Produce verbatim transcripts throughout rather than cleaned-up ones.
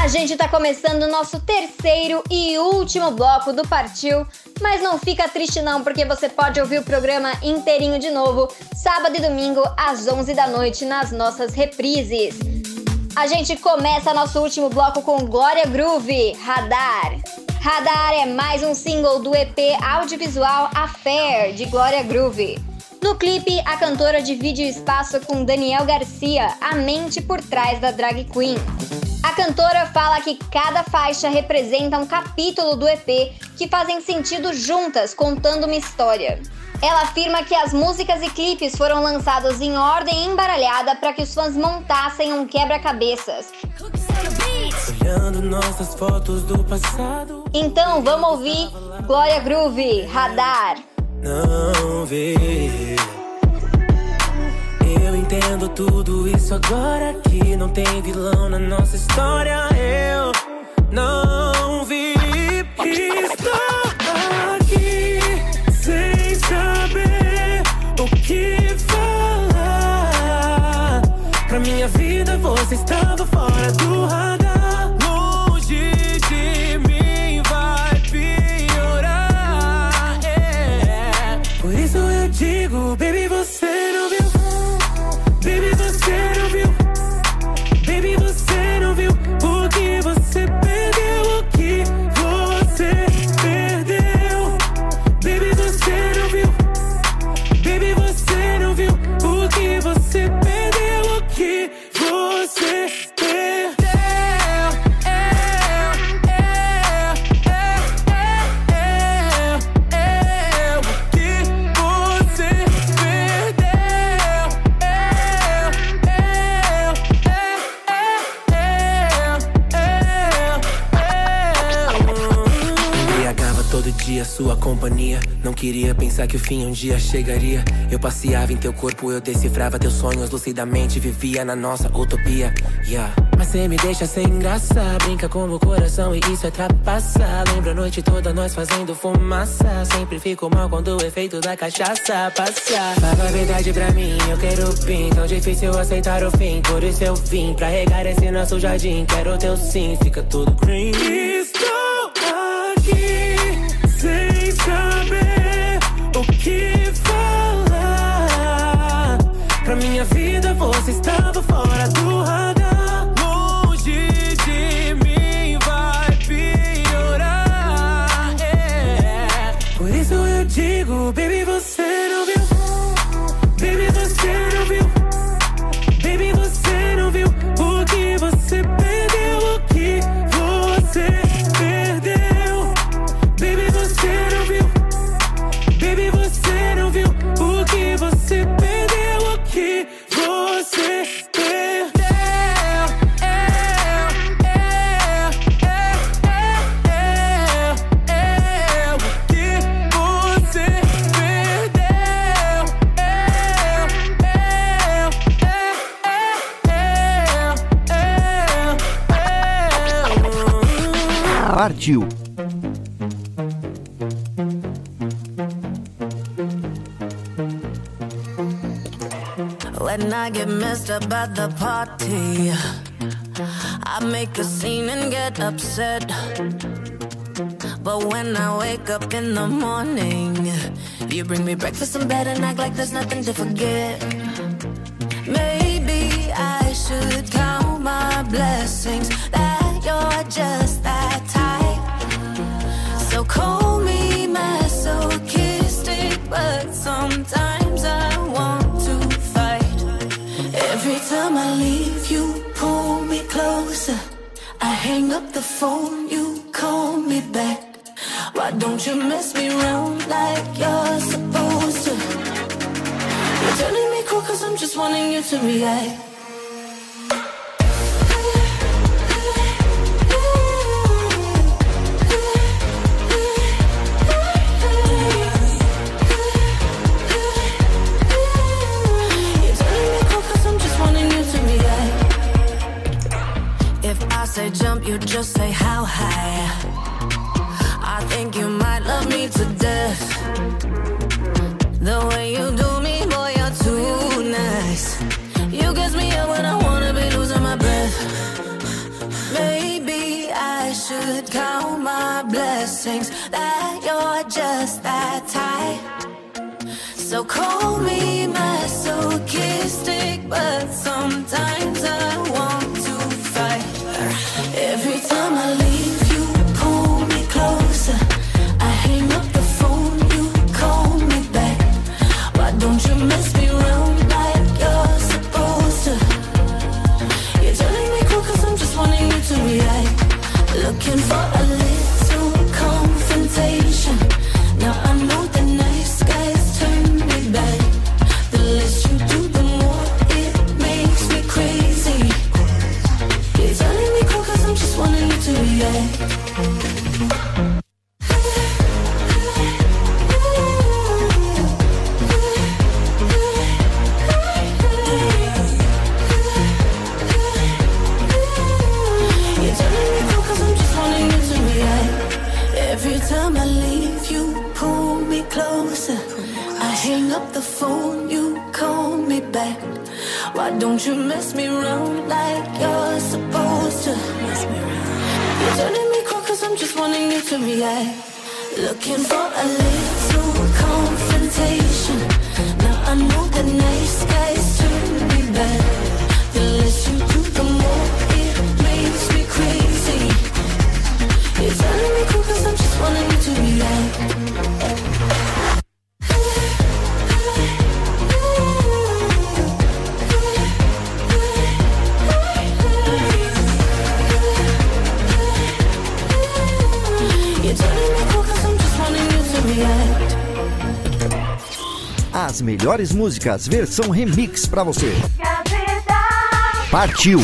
A gente tá começando o nosso terceiro e último bloco do Partiu, mas não fica triste não, porque você pode ouvir o programa inteirinho de novo, sábado e domingo, às onze da noite, nas nossas reprises. A gente começa nosso último bloco com Glória Groove, Radar. Radar é mais um single do E P audiovisual Affair, de Glória Groove. No clipe, a cantora divide o espaço com Daniel Garcia, a mente por trás da drag queen. A cantora fala que cada faixa representa um capítulo do E P que fazem sentido juntas, contando uma história. Ela afirma que as músicas e clipes foram lançados em ordem embaralhada para que os fãs montassem um quebra-cabeças. Olhando nossas fotos do passado. Então vamos ouvir Glória Groove, Radar. Não vi. Eu entendo tudo isso agora, que não tem vilão na nossa história. Eu não vi. Estou aqui sem saber o que falar. Pra minha vida você estava fora do radar. Longe de mim vai piorar, yeah. Por isso eu digo, baby, você não viu. Baby, você não viu. Baby, você não viu o que você perdeu, o que você perdeu. Baby, você não viu. Baby, você não viu o que você perdeu, o que você perdeu. A sua companhia, não queria pensar que o fim um dia chegaria. Eu passeava em teu corpo, eu decifrava teus sonhos lucidamente, vivia na nossa utopia, yeah. Mas cê me deixa sem graça, brinca com o coração e isso é trapaça. Lembra a noite toda nós fazendo fumaça. Sempre fico mal quando o efeito da cachaça passa. Fala a verdade pra mim, eu quero pin. Tão difícil aceitar o fim, por isso eu vim pra regar esse nosso jardim. Quero teu sim, fica tudo green. Estou aqui sem saber o que falar. Pra minha vida você estava fora do radar. Longe de mim vai piorar, yeah. Por isso eu digo, baby, você não viu. Baby, você não viu. Baby, você não viu o que você perdeu, o que você perdeu. Baby, você não viu. Baby, você não viu o que você perdeu, o que você perdeu. Partiu. When I get messed up at the party, I make a scene and get upset. But when I wake up in the morning, you bring me breakfast in bed and act like there's nothing to forget. Maybe I should count my blessings that you're just that type. So call me masochistic, but sometimes I want to fight. Every time I leave, you pull me closer. I hang up the phone, you call me back. Why don't you mess me around like you're supposed to? You're turning me cool cause I'm just wanting you to react. Say jump, you just say how high. I think you might love me to death. The way you do me, boy, you're too nice. You get me up when I wanna be losing my breath. Maybe could count my blessings, that you're just that type. So call me masochistic, but sometimes I want to fight. Every time I leave you, pull me closer. I hang up the phone, you call me back. Why don't you mess me around like you're supposed to? You're telling me cool cause I'm just wanting you to react. Looking for a little confrontation. Now I know the nice guys turn me back. The less you do, the more it makes me crazy. You're telling me cool cause I'm just wanting you to react. Every time I leave, you pull me closer. I hang up the phone, you call me back. Why don't you mess me around like you're supposed to? You're turning me cold cause I'm just wanting you to react. Looking for a little confrontation. Now I know the nice guys turn me back. The less you do, the more it makes me crazy. You're telling me cool cause I'm just wanting you to react. You're telling me cool cause I'm just wanting you to react. As melhores músicas, versão remix pra você. Partiu!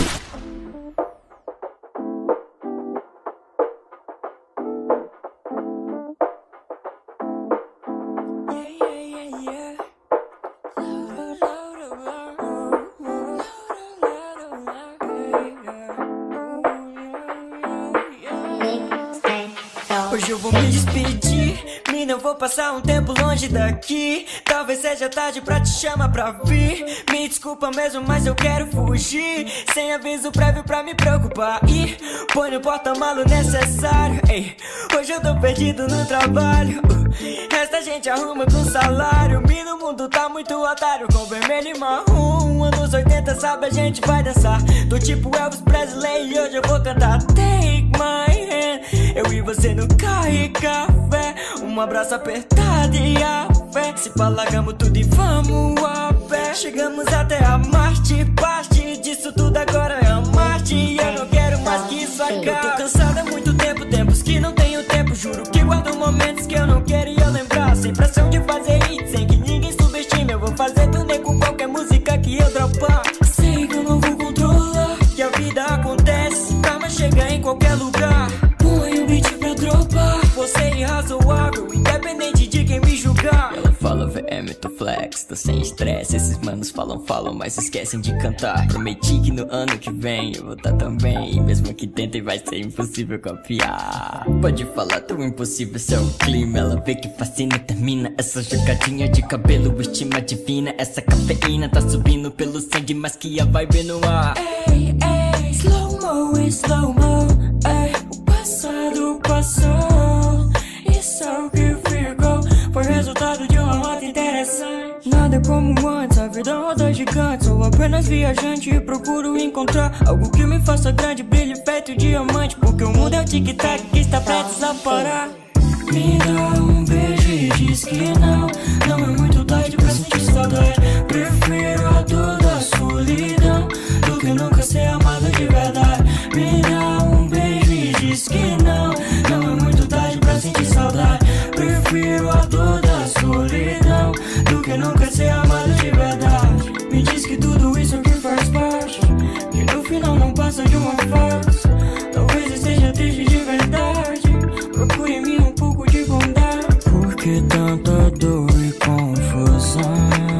Hoje eu vou me despedir, mina, eu vou passar um tempo longe daqui. Talvez seja tarde pra te chamar pra vir. Me desculpa mesmo, mas eu quero fugir. Sem aviso prévio pra me preocupar. E põe no porta-malo necessário. Ei, hoje eu tô perdido no trabalho. uh, Esta gente arruma com salário. Me no mundo tá muito otário. Com vermelho e marrom, anos oitenta, sabe, a gente vai dançar. Tô tipo Elvis Presley e hoje eu vou cantar Take My Hand. Eu e você no carro e café, um abraço apertado e a fé. Se palagamos tudo e vamos a pé. Chegamos até a Marte, parte disso tudo agora é a Marte. E eu não quero mais que isso acabe. Eu tô cansado há muito tempo, tempos que não tenho tempo. Juro que guardo momentos que eu não quero e eu lembrar. Sem pressão de fazer hit, sem que ninguém subestime. Eu vou fazer turnê com qualquer música que eu dropar. Sei que eu não vou controlar, que a vida acontece, calma chega em qualquer lugar. Põe o beat pra dropar. Você é irrazoável, independente de quem me julgar. Ela fala V M, tô flex, tô sem estresse. Esses manos falam, falam, mas esquecem de cantar. Prometi que no ano que vem eu vou tá também. Mesmo que tentem vai ser impossível copiar. Pode falar tão impossível, seu clima. Ela vê que fascina, termina essa jogadinha de cabelo, estima divina. Essa cafeína tá subindo pelo sangue, mas que a vibe no ar. Ei, ei, slow-mo, slow-mo, ei. O passado passou, isso é o que ficou. Foi resultado de uma rota interessante. Nada como antes, a vida roda gigante. Sou apenas viajante e procuro encontrar algo que me faça grande, brilho feito diamante. Porque o mundo é o tic-tac que está prestes a parar. Me dá um beijo e diz que não, não é muito tarde pra sentir saudade. Prefiro a dor da solidão do que nunca ser amado de verdade. Me dá um beijo e diz que não, não é muito tarde pra sentir saudade. Prefiro a dor da solidão do que nunca ser amado de verdade. Me diz que tudo isso aqui faz parte, que no final não passa de uma farsa. Talvez esteja triste de verdade, procure em mim um pouco de bondade. Por que tanta dor e confusão?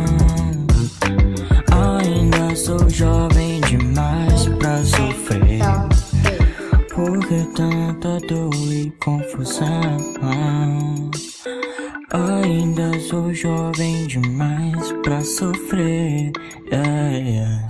Ainda sou jovem demais pra sofrer. Por que tanta dor e confusão? Ainda sou jovem demais pra sofrer. Yeah, yeah.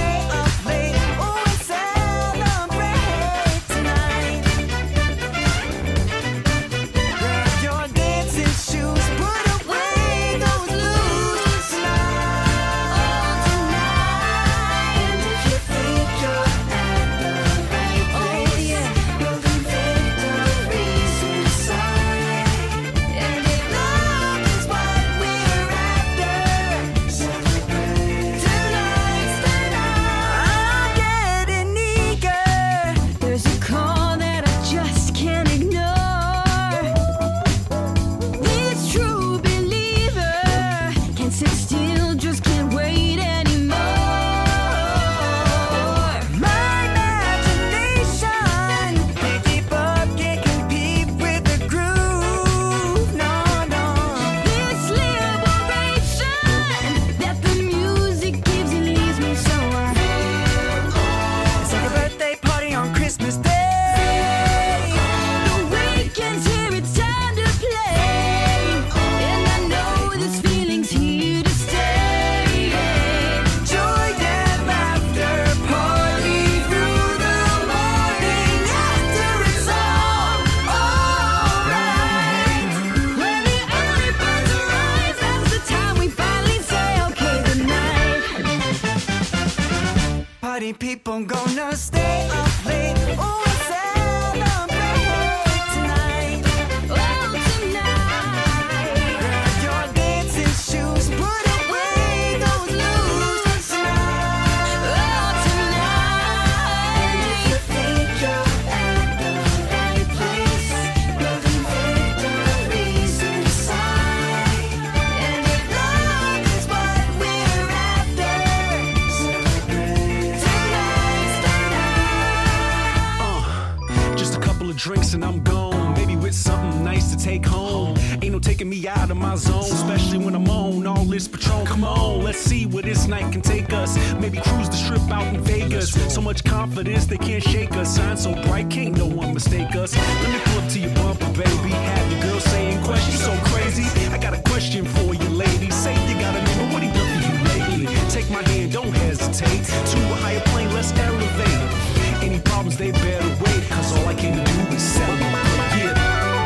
stay up late. Oh, and celebrate tonight. Grab your dancing shoes, put away those blues tonight. Oh, tonight. And if you think you're at the right place, oh, yeah, you'll be victories inside. And if love is what we're after, celebrate tonight's the night. I'm getting eager. There's a call that I just can't ignore. This true believer can't sit still, just can't wait anymore. My imagination can't keep up, can't compete with the groove. No, no. This liberation that the music gives and leaves me so it's like a birthday party on Christmas Day. The weekend's here, it's time to play. And I know this feeling's here to stay. Joy and laughter, party through the morning after it's all alright. When the early birds arise, that's the time we finally say, okay, good night. Party people gonna stay up late. Oh, and celebrate tonight. Oh, tonight. Grab your dancing shoes, put away those blues tonight. Oh, tonight. And if you think you're at the right place, you'll be victories inside. And if love is what we're after, celebrate tonight's the night. Just a couple of drinks and I'm gone. Maybe with something nice to take home. Ain't no taking me out of my zone, especially when I'm on all this Patron. Come on, let's see where this night can take us. Maybe cruise the strip out in Vegas. So much confidence they can't shake us. Sign so bright, can't no one mistake us. Let me pull up to your bumper, baby. Have your girl saying questions so crazy. I got a question for you, lady. Say you got a nigga, what he done for you lately? Take my hand, don't hesitate. To a higher plane, let's elevate. Any problems, they better wait. Cause all I came to do is celebrate. Yeah.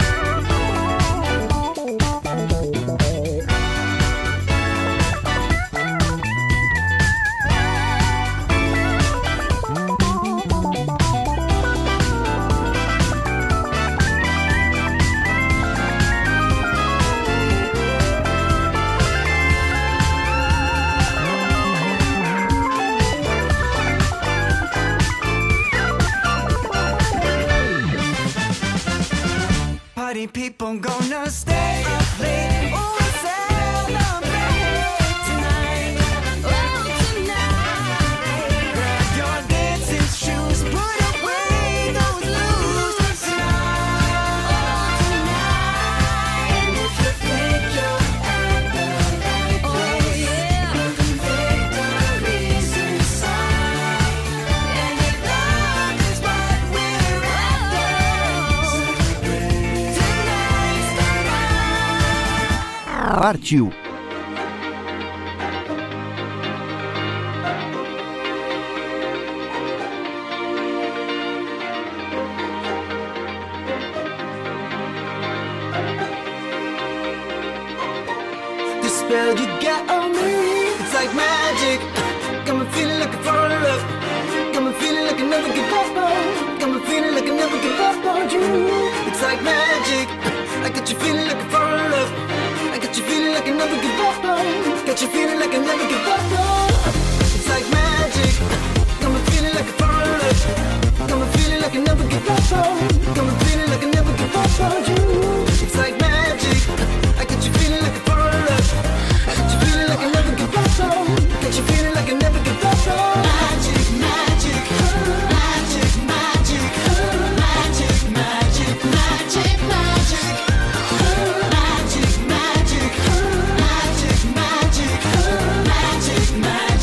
Party people gonna stay up late. Oh, and celebrate tonight. Oh, tonight. Grab your dancing shoes, put away those blues tonight. Oh, tonight. And if you think you're at the right place, you'll be victories inside. And if love is what we're after, celebrate tonight's the night. Partiu! The spell you got on me, it's like magic. Got me feeling like I fall in love. Got me feeling like I never give up on. Got me feeling like I never give up on you. It's like magic. I got you feeling like I fall in love. I got you feeling like I never give up on. Got you feeling like I never give up on. It's like magic. Got me feeling like I fall in love. Got me feeling like I never give up on. Got me feeling like I never give up on you. It's like magic. I got you feeling like I fall in love. I got you feeling like I never give up on. Got you feeling like I never give up on. Magic, magic, magic, magic, magic, magic, magic, magic, magic, magic, magic, magic, magic, magic.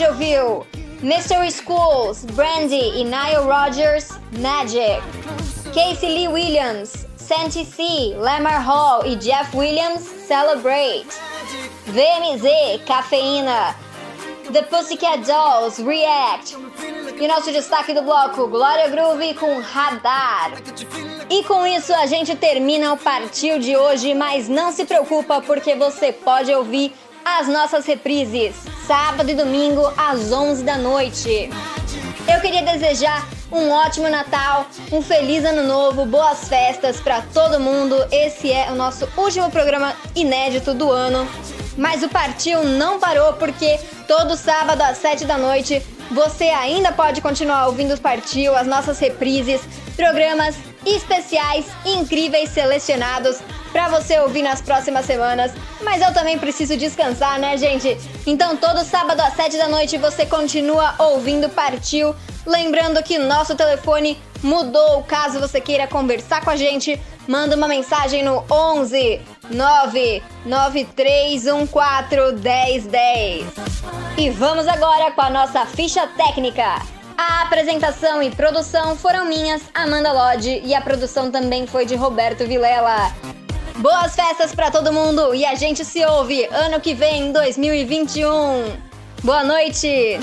gente ouviu Mystery Schools, Brandy e Nile Rodgers, Magic. Casey Lee Williams, Santi C, Lamar Hall e Jeff Williams, Celebrate. V M Z, Cafeína. The Pussycat Dolls, React. E nosso destaque do bloco, Glória Groove com Radar. E com isso a gente termina o Partiu de hoje, mas não se preocupa porque você pode ouvir as nossas reprises, sábado e domingo às onze da noite. Eu queria desejar um ótimo Natal, um feliz Ano Novo, boas festas para todo mundo. Esse é o nosso último programa inédito do ano. Mas o Partiu não parou porque todo sábado às sete da noite você ainda pode continuar ouvindo o Partiu, as nossas reprises, programas especiais incríveis selecionados para você ouvir nas próximas semanas. Mas eu também preciso descansar, né, gente? Então todo sábado às sete da noite você continua ouvindo Partiu. Lembrando que nosso telefone mudou, caso você queira conversar com a gente, manda uma mensagem no onze nove nove três um quatro um zero um zero. E vamos agora com a nossa ficha técnica. A apresentação e produção foram minhas, Amanda Lodge, e a produção também foi de Roberto Vilela. Boas festas pra todo mundo e a gente se ouve ano que vem, dois mil e vinte e um. Boa noite!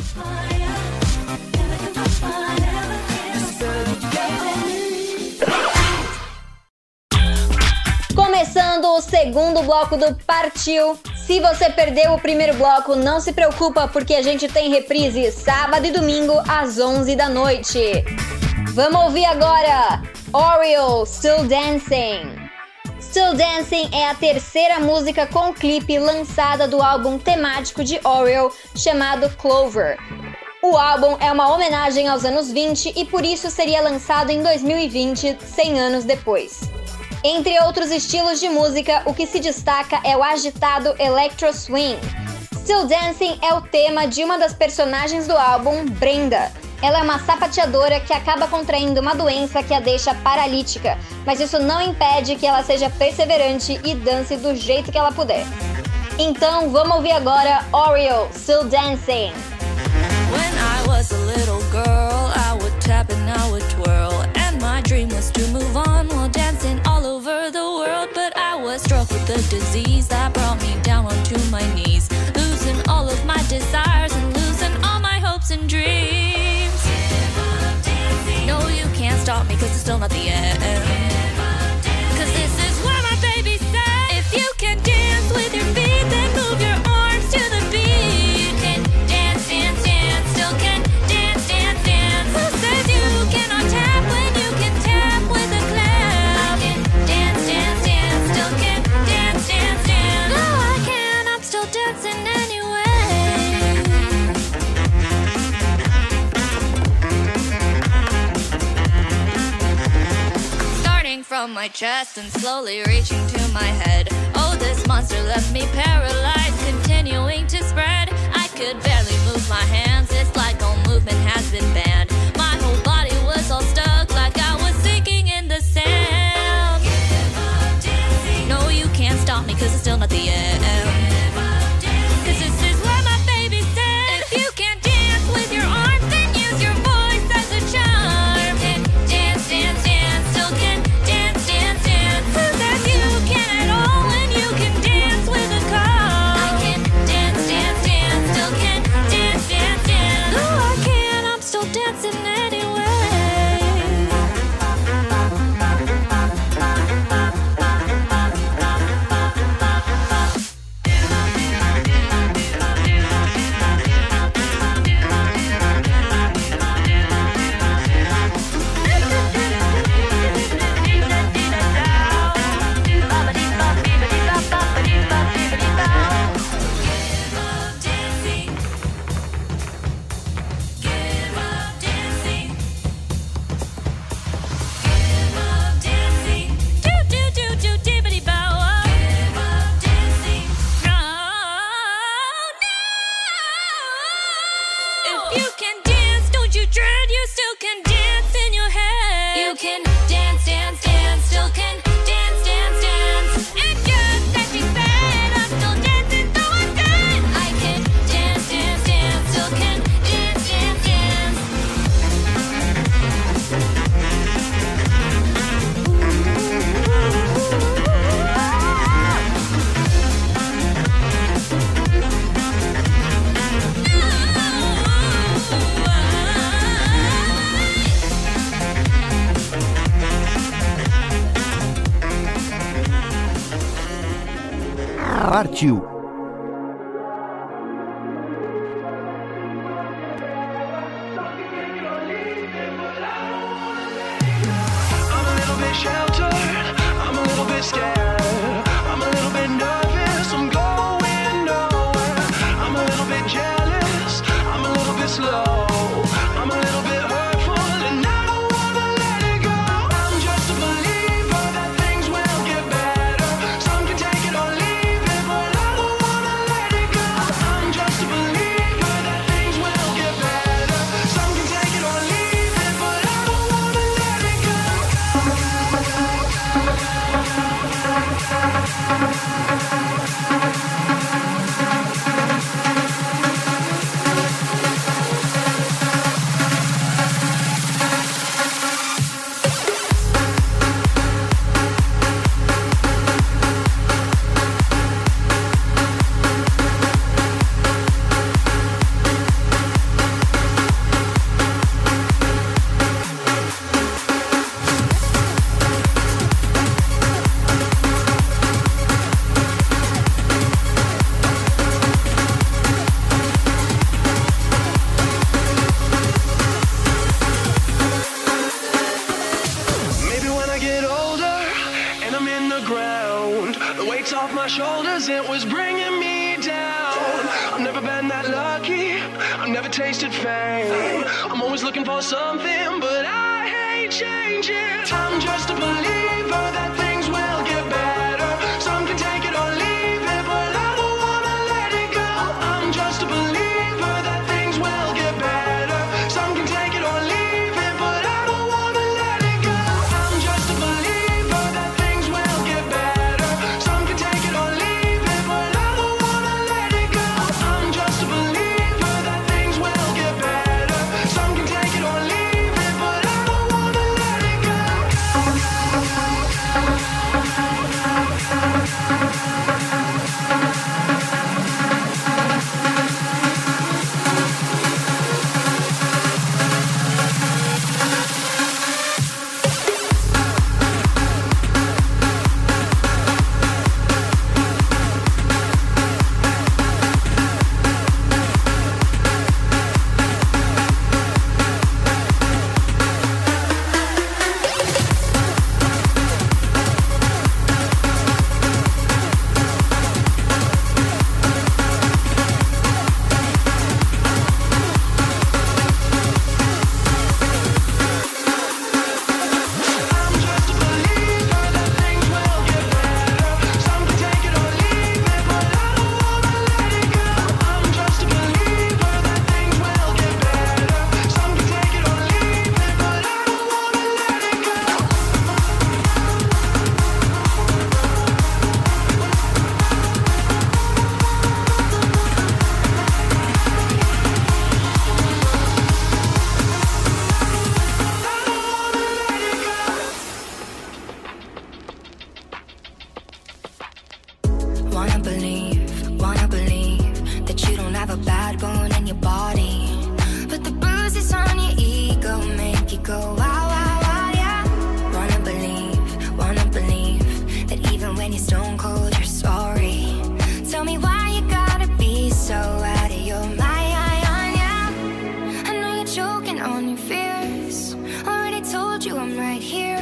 Começando o segundo bloco do Partiu. Se você perdeu o primeiro bloco, não se preocupa porque a gente tem reprise sábado e domingo às onze da noite. Vamos ouvir agora Oreo, Still Dancing. Still Dancing é a terceira música com clipe lançada do álbum temático de Oreo chamado Clover. O álbum é uma homenagem aos anos vinte e por isso seria lançado em dois mil e vinte, cem anos depois. Entre outros estilos de música, o que se destaca é o agitado Electro Swing. Still Dancing é o tema de uma das personagens do álbum, Brenda. Ela é uma sapateadora que acaba contraindo uma doença que a deixa paralítica, mas isso não impede que ela seja perseverante e dance do jeito que ela puder. Então vamos ouvir agora Oreo, Still Dancing. When I was a little girl, I would tap and I would twirl. And my dream was to move on while dancing all over the world. But I was struck with a disease that brought me down onto my knees, losing all of my desires and losing all my hopes and dreams. No, you can't stop me cause it's still not the end. Cause this is where my baby said, if you can dance with your feet, then move your arms to the beat. You can dance, dance, dance, still can dance, dance, dance. Who says you cannot tap when you can tap with a clap? I can dance, dance, dance, still can dance, dance, dance. No, I can, I'm still dancing anyway. Starting from my chest and slowly reaching to my head. Oh, this monster left me paralyzed, continuing to spread. I could barely move my hands, it's like all movement has been banned. My whole body was all stuck, like I was sinking in the sand. No, you can't stop me, cause it's still not the end. Cause this is where my baby said, if you can't dance with your arms, then use your voice as a charm. And dance, dance, dance, still can dance, dance, dance. Who says you can at all when you can dance with a car? I can dance, dance, dance, still can dance, dance, dance. No, I can, I'm still dancing anyway. Partiu.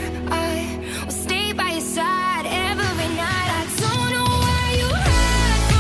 I will stay by your side every night. I don't know why you hurt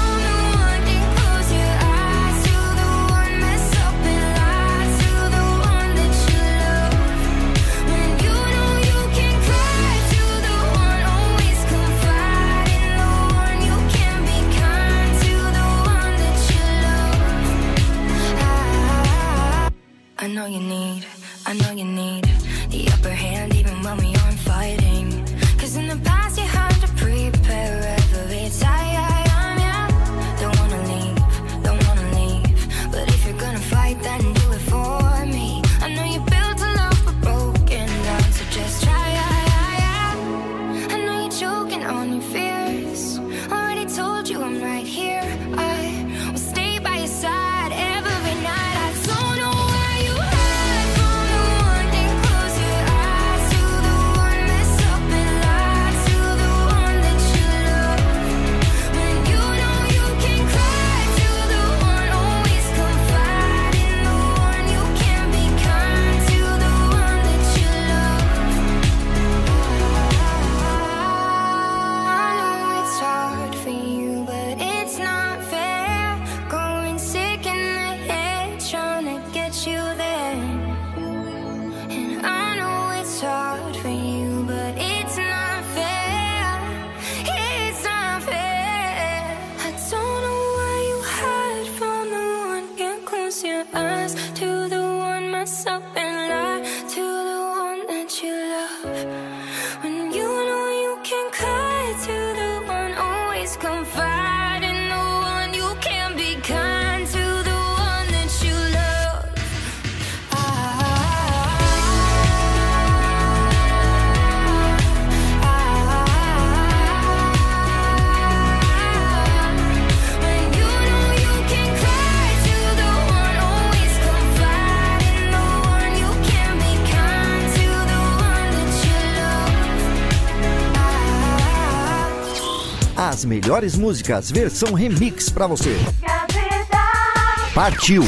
As melhores músicas, versão remix pra você. Partiu!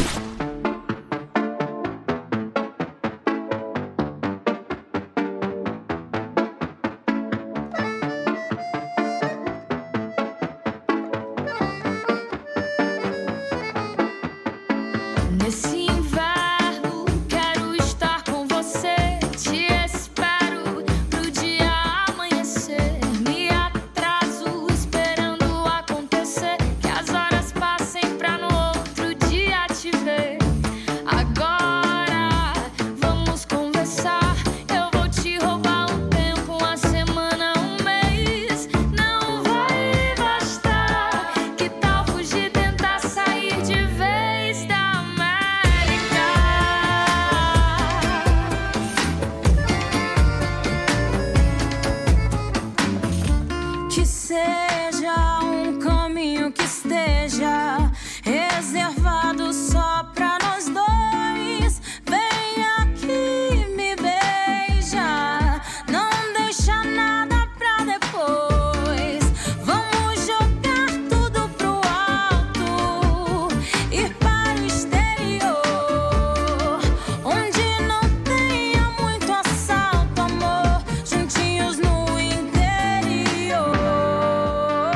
Juntinhos no interior.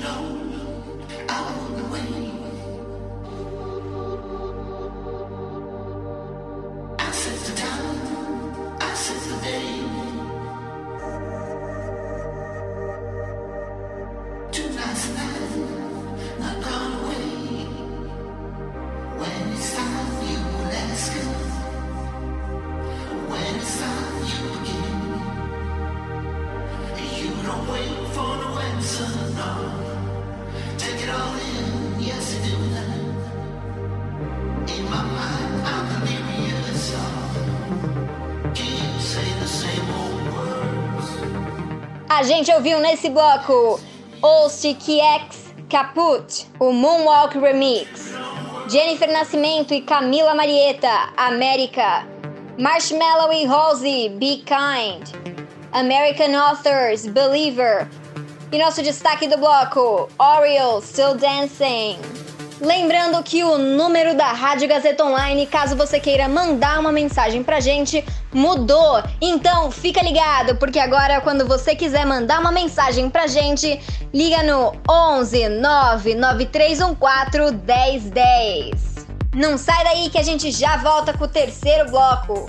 A gente ouviu nesse bloco Ostick X Caput, o Moonwalk Remix, Jennifer Nascimento e Camila Marietta, América, Marshmello e Halsey, Be Kind, American Authors, Believer, e nosso destaque do bloco, Oreo, Still Dancing. Lembrando que o número da Rádio Gazeta Online, caso você queira mandar uma mensagem pra gente, mudou. Então fica ligado, porque agora quando você quiser mandar uma mensagem pra gente, liga no onze nove nove três um quatro um zero um zero. Não sai daí que a gente já volta com o terceiro bloco.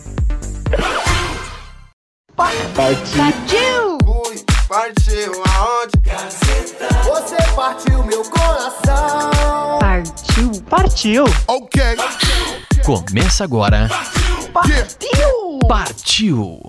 Partiu! Fui, partiu aonde? Gazeta. Você partiu meu coração. Partiu, partiu. Ok. Começa agora. Partiu! Partiu!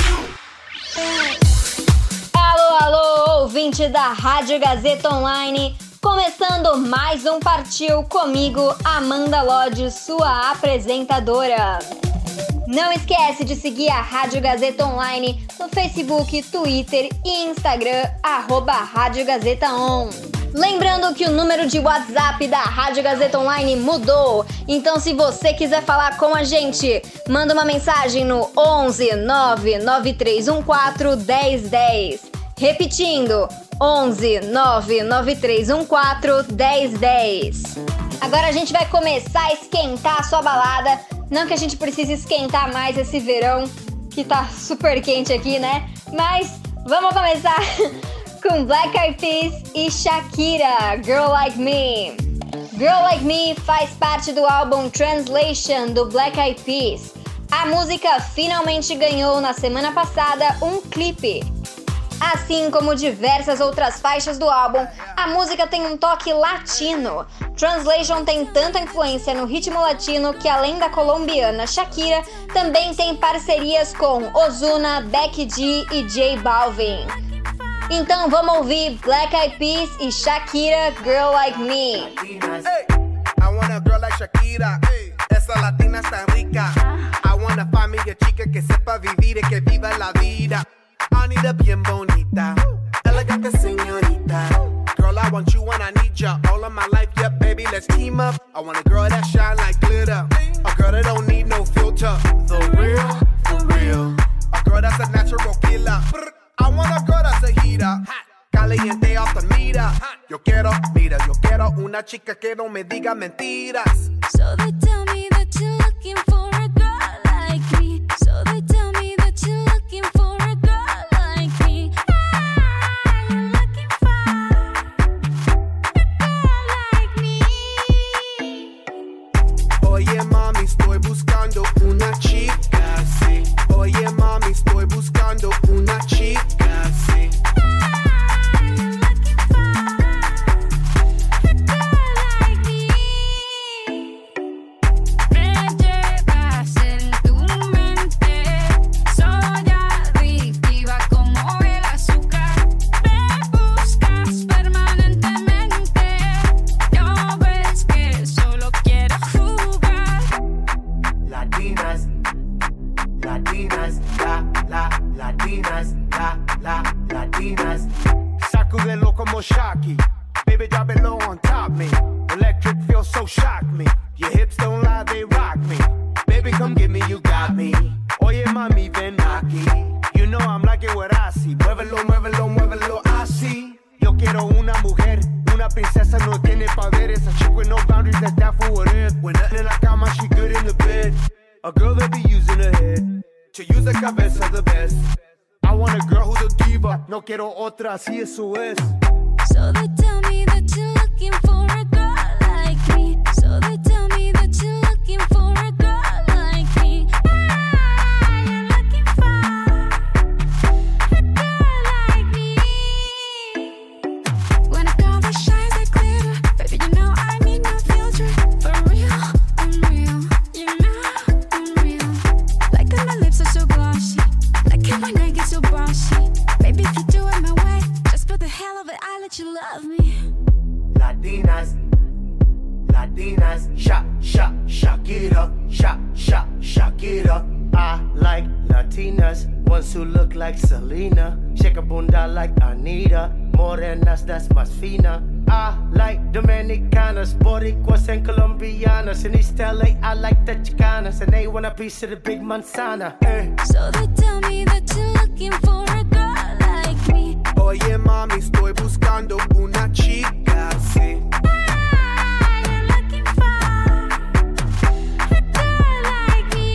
Alô, alô, ouvinte da Rádio Gazeta Online. Começando mais um Partiu comigo, Amanda Lodge, sua apresentadora. Não esquece de seguir a Rádio Gazeta Online no Facebook, Twitter e Instagram, arroba Rádio Gazeta On. Lembrando que o número de WhatsApp da Rádio Gazeta Online mudou, então se você quiser falar com a gente, manda uma mensagem no onze nove nove três um quatro um zero um zero. Repetindo, onze nove nove três um quatro um zero um zero. Agora a gente vai começar a esquentar a sua balada. Não que a gente precise esquentar mais esse verão, que tá super quente aqui, né? Mas vamos começar com Black Eyed Peas e Shakira, Girl Like Me. Girl Like Me faz parte do álbum Translation do Black Eyed Peas. A música finalmente ganhou na semana passada um clipe. Assim como diversas outras faixas do álbum, a música tem um toque latino. Translation tem tanta influência no ritmo latino que, além da colombiana Shakira, também tem parcerias com Ozuna, Becky G e J Balvin. Então vamos ouvir Black Eyed Peas e Shakira, Girl Like Me. Hey, I want a girl like Shakira. Hey, esa latina está rica. I want a familia chica que sepa vivir y que viva la vida. Anita bien bonita, elegante señorita. Girl, I want you and I need ya all of my life, yeah, baby, let's team up. I want a girl that shine like glitter, a girl that don't need no filter. The real, the real, a girl that's a natural killer. I want a girl that's a heater, caliente off the meter. Yo quiero, mira, yo quiero una chica que no me diga mentiras. So they tell me that you're looking for a girl like me. So they tell me that you're looking for a girl. Oye mami, estoy buscando una chica, sí. Oye mami, estoy buscando una chica, sí. Sacudelo como Shocky, baby drop it low on top me. Electric feels so shock me. Your hips don't lie, they rock me. Baby come get me, you got me. Oye mami ven aquí. You know I'm like it what I see. Muévelo, muévelo, muévelo así. Yo quiero una mujer, una princesa no tiene poderes. A chick with no boundaries, that's that for what it is. When nothing in la cama, she good in the bed. A girl that be using her head to use the cabeza the best. I want a girl who's a diva. No quiero otra, así eso es. So So they tell me that you're looking for a girl like me. So they tell me that you're looking for a girl like me. Ah, you're looking for a girl like me. When a girl that shines like glitter, baby, you know I need no filter. For real, I'm real. You know I'm real. Like that my lips are so glossy. Like how my neck is so bossy. Baby, if you do it my way, just for the hell of it, I let you love me. Latinas, Latinas, shock, shock, shock it up, shock, shock, shock it up. I like Latinas, ones who look like Selena, shake a bunda like Anita, morenas, that's más fina. I like Dominicanas, Boricuas and Colombianas. In East L A, I like the Chicanas, and they want a piece of the big manzana. Eh. So they tell me that you're looking for a girl like me. Oye mami, estoy buscando una chica, sí. Ah, you're looking for a girl like me.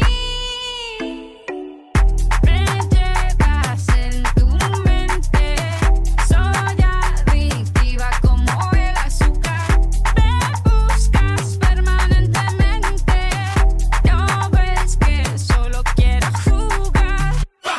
Vente, va a ser tu mente. Soy adictiva como el azúcar. Me buscas permanentemente. No ves que solo quiero jugar.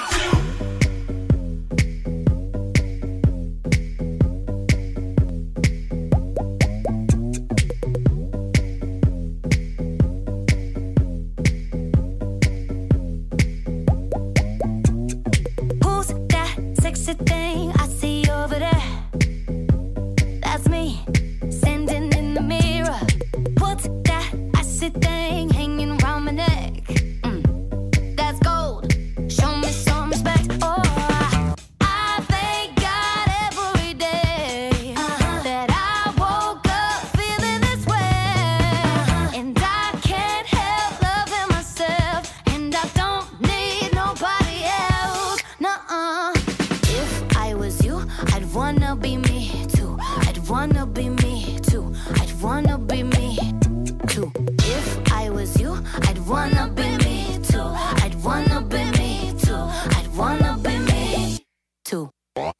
Who's that sexy thing I see over there? That's me, standing in the mirror. What's that icy thing hanging around my neck? Mm, that's gold. Show me some respect. Oh, I thank God every day that I woke up feeling this way, and I can't help loving myself, and I don't need nobody else. Nuh-uh. If I was you, I'd wanna be me too. I'd wanna be me too. I'd wanna be me too. If I was you, I'd wanna be me too. I'd wanna be me too. I'd wanna be me too.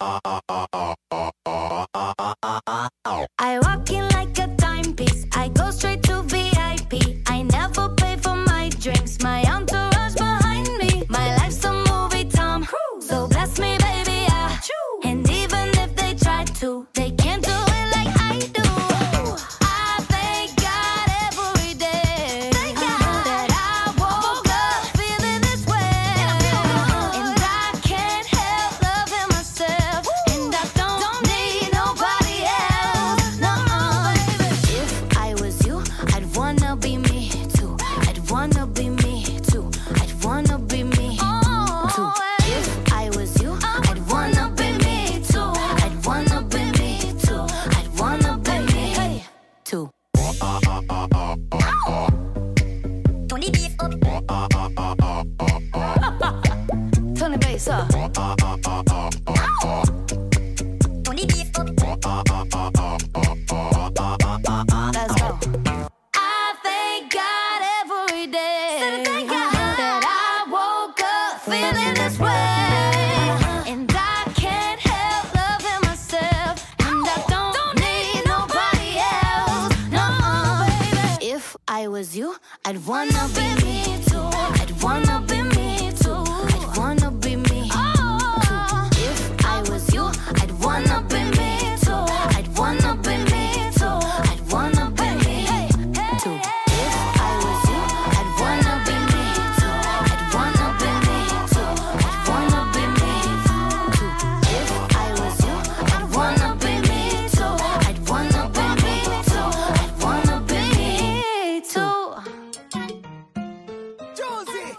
I walk in like a timepiece. I go straight to V I P. I never pay for my drinks. My entourage behind me. My life's a movie, Tom. So bless me, baby, yeah. And even if they try to, they can't do it like I do. I thank God every day that I woke up feeling this way, and I can't help loving myself, and I don't need nobody else. No, if I was you, I'd wanna be me too. I'd wanna be me too. I'd wanna be me too. If I was you, I'd wanna be me too. I'd wanna be me too. I'd wanna be me too. Tony beef up. Turn the bass up. Tony beef up. Let's go. I thank God every day that I woke up feeling this way, and I can't help loving myself, and I don't need nobody else. No, baby. If I was you, I'd wanna be me too. I'd wanna be me too. I'd wanna be me too. If I was you, I'd wanna be me too. I'd wanna be me too. I'd wanna be me too. If I was you, I'd wanna be me too. I'd wanna be me too. I'd wanna be me too. If I was you, I'd wanna be me too. I'd wanna be me too. I'd wanna be me too. Josie.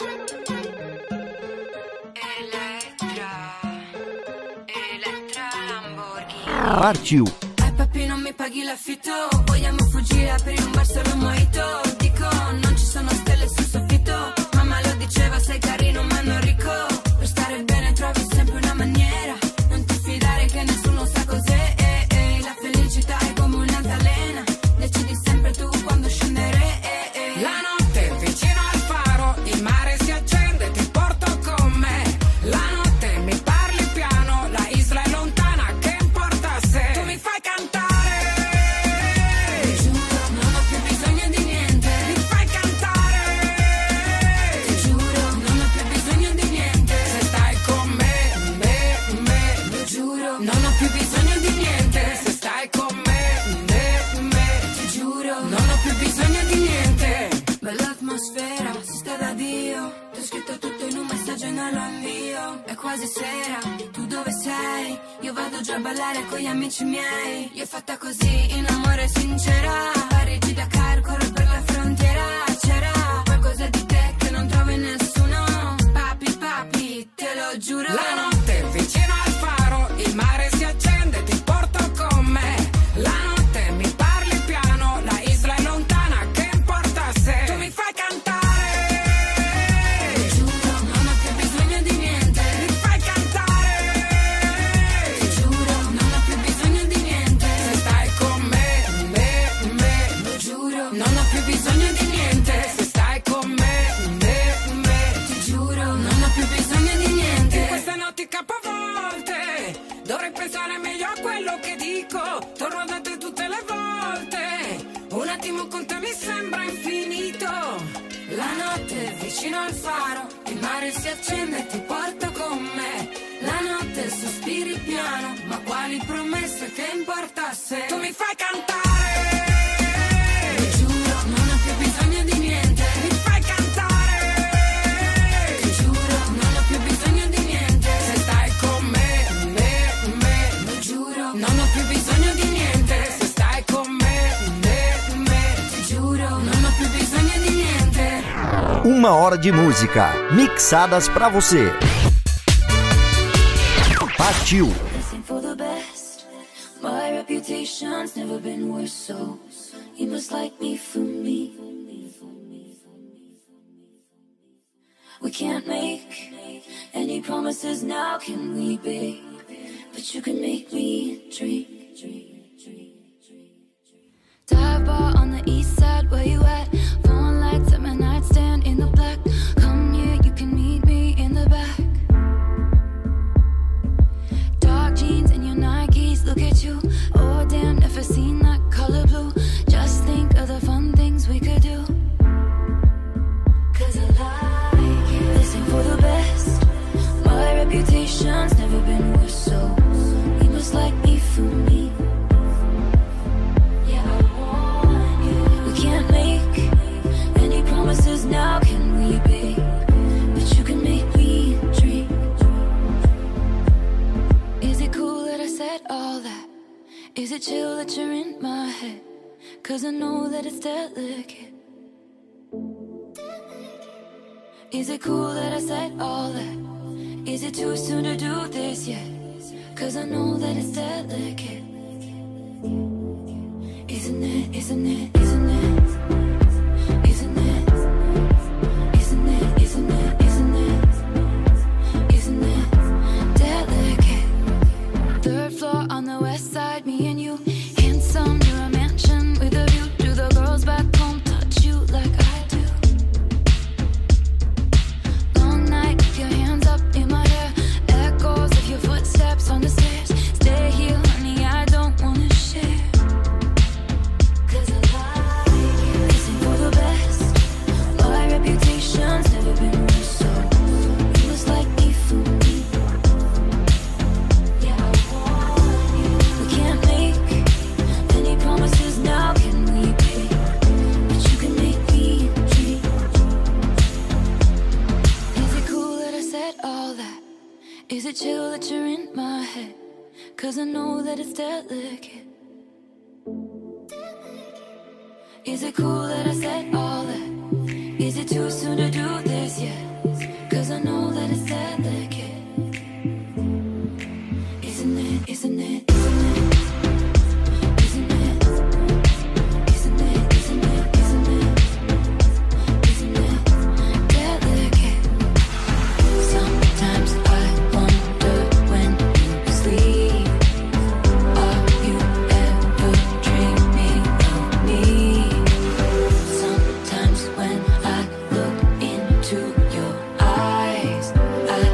Partiu. Ai papi non mi paghi l'affitto, vogliamo fuggire, aprire un bar solo un mojito. Dico non ci sono stelle sul soffitto, mamma lo diceva sei carino ma non ricco. Per stare bene trovi sempre una maniera, non ti fidare che nessuno sa cos'è. eh, eh. La felicità è come un'altalena, decidi sempre tu quando scendere. eh, eh. La notte vicino al faro, il mare si accende, ti porto con me. La notte mi parli piano, la isla è lontana, che importa se tu mi fai cantare. giuro, è quasi sera, tu dove sei? Io vado già a ballare con gli amici miei. Io fatta così, in amore sincera. Parigi da Cairo, corro per la frontiera. C'era qualcosa di te che non trovo in nessuno. Papi, papi, te lo giuro. La notte vicino al faro, il mare si accende, ti porto con me. La notte mi parli piano, la isla è lontana, che importa se tu mi fai cantare. Capovolte, dovrei pensare meglio a quello che dico. Torno da te tutte le volte. Un attimo con te mi sembra infinito. La notte è vicino al faro, il mare si accende e ti porto con me. La notte sospiri piano, ma quali promesse, che importa se tu mi fai cantare. Ti giuro, non ho più bisogno di niente. Mi fai cantare. Ti giuro, non ho più bisogno di niente. Se stai con me, me, me, lo giuro. Non ho più bisogno di niente. Se stai con me, me, me, ti giuro. Non ho più bisogno di niente. Uma hora de música, mixadas pra você. Partiu! Listen for the best. My reputation's never been worse, so you must like me for me. We can't make any promises now, can we, babe? But you can make me drink. Dive bar on the east side, where you at? Phone lights at my nightstand in the black. Come here, you can meet me in the back. Dark jeans and your Nikes, look at you. Oh damn, never seen that color blue. Just think of the fun things we could do. Cause I like it. Listen for the best. My reputation's never been worse, so you must like me for me. Yeah, I want you. We can't make any promises now, can we, babe? But you can make me dream. Is it cool that I said all that? Is it chill that you're in my head? Cause I know that it's delicate. Is it cool that I said all that? Is it too soon to do this yet? Cause I know that it's delicate. Isn't it, isn't it, isn't it? Isn't it? Isn't it, isn't it, isn't it? Isn't it delicate? Third floor on the west side, me and you. Handsome, near a mansion with a view. Do the girls back home touch you like I do? Long night, keep your hands up in my hair. Echoes of your footsteps on the stairs. Stay here, honey, I don't wanna share. Cause I like it. Listen for the best. My reputation's never been worse, so you must like me for me. Yeah, I want you. We can't make any promises now, can we, babe? But you can make me dream. Is it cool that I said all that? Is it chill that you're in my head? Cause I know that it's delicate. Is it cool that I said all that? Is it too soon to do this yet? Cause I know that it's delicate. Isn't it, isn't it, isn't it? Isn't it? Isn't it, isn't it, isn't it? Isn't it delicate? Sometimes I wonder when you sleep, are you ever dreaming of me? Sometimes when I look into your eyes, I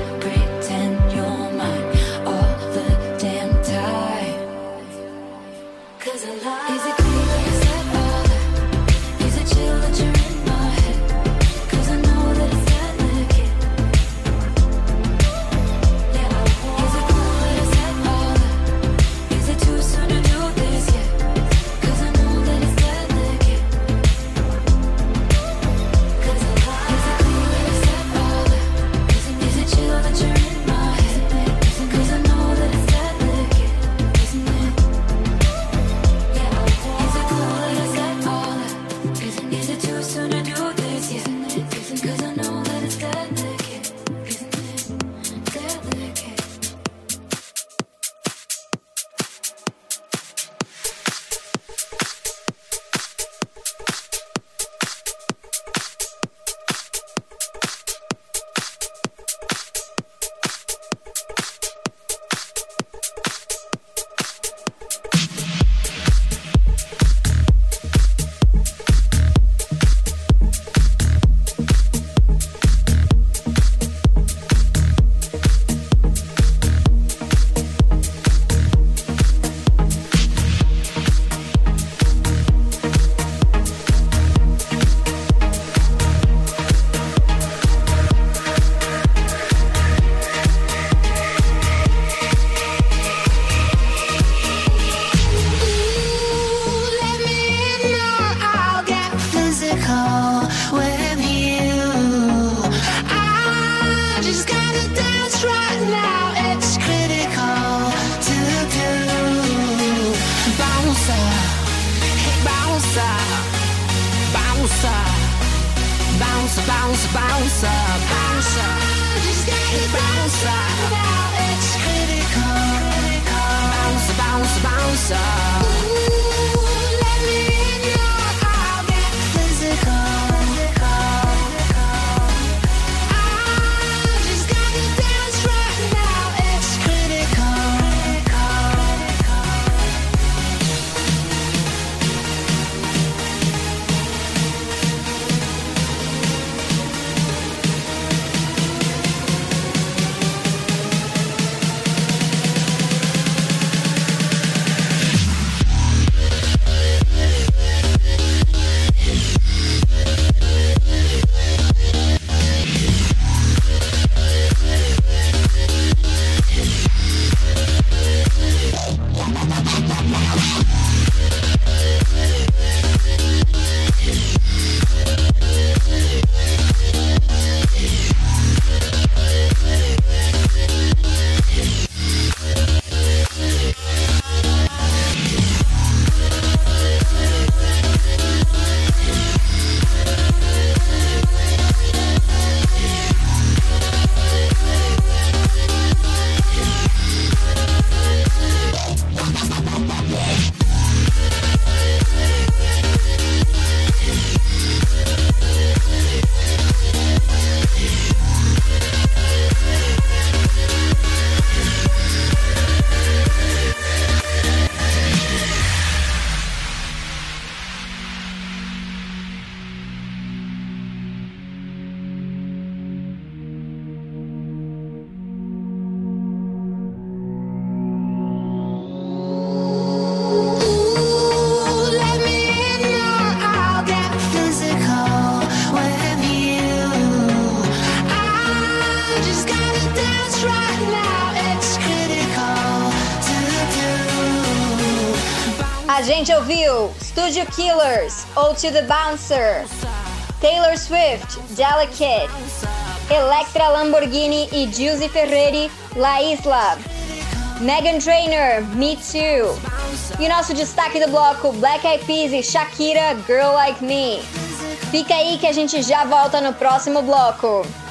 bounce, bounce, bounce up, bounce up. Just gotta bounce up. Now it's critical, critical. Bounce, bounce, bounce up. Ooh, let me in your, I'll get physical, physical, physical. I just gotta dance right now. It's critical, critical, A gente ouviu Studio Killers, ou To The Bouncer, Taylor Swift, Delicate, Electra Lamborghini e Giusy Ferreri, La Isla, Meghan Trainor, Me Too. E o nosso destaque do bloco, Black Eyed Peas e Shakira, Girl Like Me. Fica aí que a gente já volta no próximo bloco.